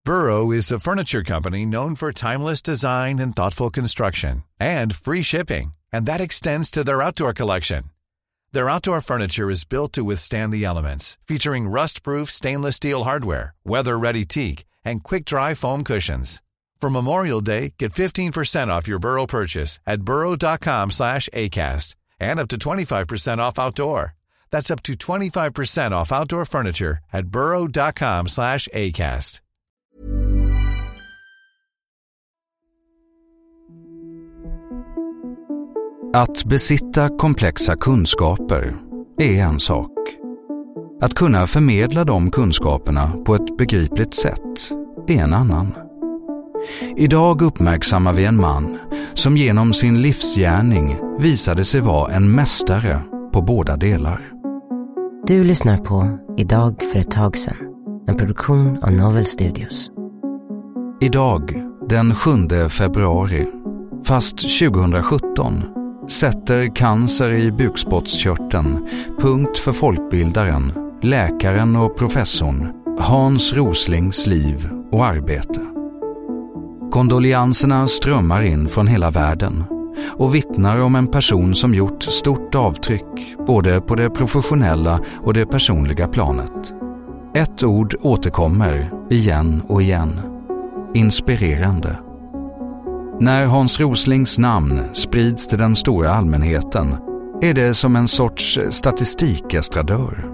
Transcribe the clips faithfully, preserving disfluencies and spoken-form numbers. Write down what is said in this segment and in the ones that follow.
Burrow is a furniture company known for timeless design and thoughtful construction, and free shipping, and that extends to their outdoor collection. Their outdoor furniture is built to withstand the elements, featuring rust-proof stainless steel hardware, weather-ready teak, and quick-dry foam cushions. For Memorial Day, get fifteen percent off your Burrow purchase at burrow.com slash ACAST and up to twenty-five percent off outdoor. That's up to twenty-five percent off outdoor furniture at burrow.com slash ACAST. Att besitta komplexa kunskaper är en sak. Att kunna förmedla de kunskaperna på ett begripligt sätt är en annan. Idag uppmärksammar vi en man som genom sin livsgärning visade sig vara en mästare på båda delar. Du lyssnar på Idag för ett tag sedan, en produktion av Novel Studios. Idag, den sjunde februari, fast tjugohundrasjutton, sätter cancer i bukspottkörteln punkt för folkbildaren, läkaren och professorn Hans Roslings liv och arbete. Kondolianserna strömmar in från hela världen och vittnar om en person som gjort stort avtryck både på det professionella och det personliga planet. Ett ord återkommer igen och igen. Inspirerande. När Hans Roslings namn sprids till den stora allmänheten är det som en sorts statistikestradör.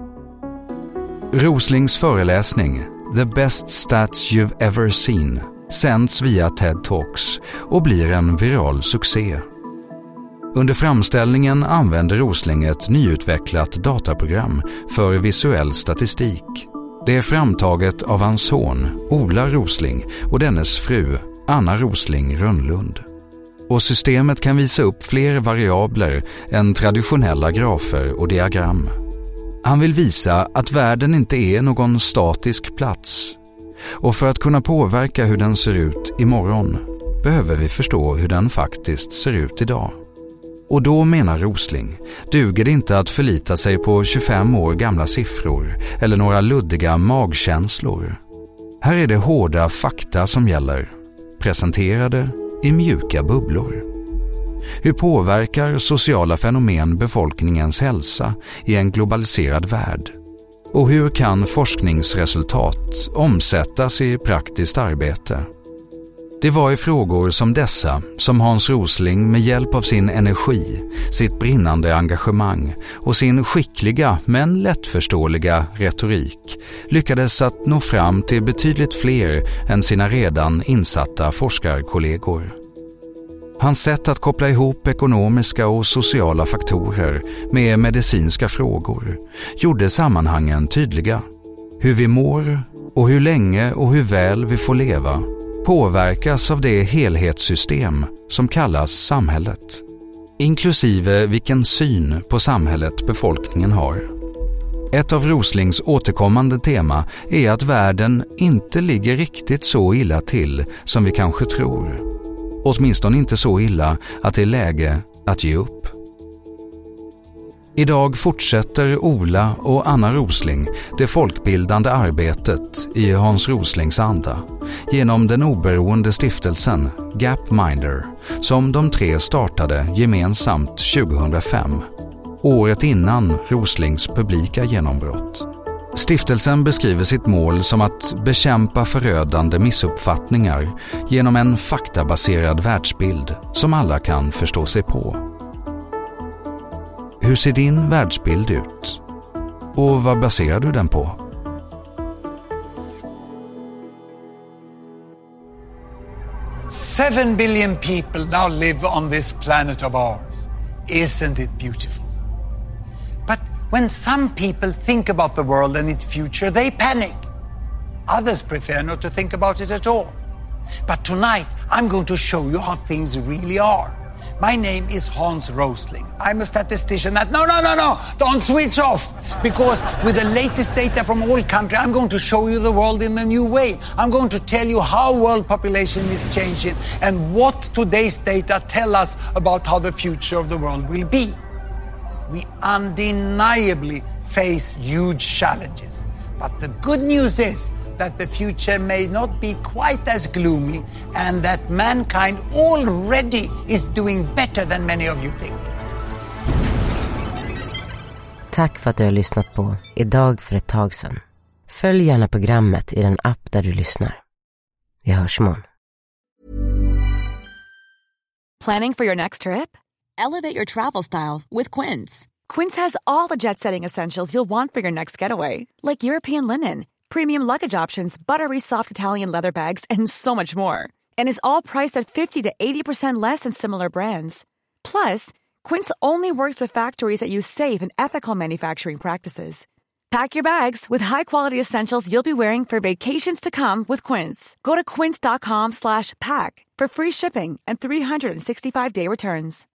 Roslings föreläsning The Best Stats You've Ever Seen sänds via TED Talks och blir en viral succé. Under framställningen använder Rosling ett nyutvecklat dataprogram för visuell statistik. Det är framtaget av hans son Ola Rosling och dennes fru Anna Rosling Rönnlund. Och systemet kan visa upp fler variabler än traditionella grafer och diagram. Han vill visa att världen inte är någon statisk plats. Och för att kunna påverka hur den ser ut imorgon behöver vi förstå hur den faktiskt ser ut idag. Och då menar Rosling, duger det inte att förlita sig på tjugofem år gamla siffror eller några luddiga magkänslor. Här är det hårda fakta som gäller, presenterade i mjuka bubblor. Hur påverkar sociala fenomen befolkningens hälsa i en globaliserad värld? Och hur kan forskningsresultat omsättas i praktiskt arbete? Det var i frågor som dessa som Hans Rosling med hjälp av sin energi, sitt brinnande engagemang och sin skickliga men lättförståeliga retorik lyckades att nå fram till betydligt fler än sina redan insatta forskarkollegor. Hans sätt att koppla ihop ekonomiska och sociala faktorer med medicinska frågor gjorde sammanhangen tydliga. Hur vi mår och hur länge och hur väl vi får leva påverkas av det helhetssystem som kallas samhället, inklusive vilken syn på samhället befolkningen har. Ett av Roslings återkommande tema är att världen inte ligger riktigt så illa till som vi kanske tror. Åtminstone inte så illa att det är läge att ge upp. Idag fortsätter Ola och Anna Rosling det folkbildande arbetet i Hans Roslings anda genom den oberoende stiftelsen Gapminder som de tre startade gemensamt tjugohundrafem, året innan Roslings publika genombrott. Stiftelsen beskriver sitt mål som att bekämpa förödande missuppfattningar genom en faktabaserad världsbild som alla kan förstå sig på. Hur ser din världsbild ut? Och vad baserar du den på? Seven billion people now live on this planet of ours. Isn't it beautiful? But when some people think about the world and its future, they panic. Others prefer not to think about it at all. But tonight, I'm going to show you how things really are. My name is Hans Rosling. I'm a statistician that... No, no, no, no! Don't switch off! Because with the latest data from all countries, I'm going to show you the world in a new way. I'm going to tell you how world population is changing and what today's data tell us about how the future of the world will be. We undeniably face huge challenges. But the good news is that the future may not be quite as gloomy and that mankind already is doing better than many of you think. Tack för att du har lyssnat på Idag för ett tag sedan. Följ gärna programmet i den app där du lyssnar. Vi hörs imorgon. Planning for your next trip? Elevate your travel style with Quince. Quince has all the jet-setting essentials you'll want for your next getaway, like European linen, premium luggage options, buttery soft Italian leather bags, and so much more. And is all priced at fifty to eighty percent less than similar brands. Plus, Quince only works with factories that use safe and ethical manufacturing practices. Pack your bags with high-quality essentials you'll be wearing for vacations to come with Quince. Go to quince dot com slash pack for free shipping and three hundred sixty-five day returns.